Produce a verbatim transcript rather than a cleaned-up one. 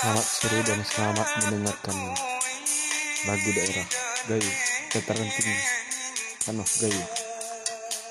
Selamat sore dan selamat mendengarkan lagu daerah Gayo, dataran tinggi, Kanoh Gayo.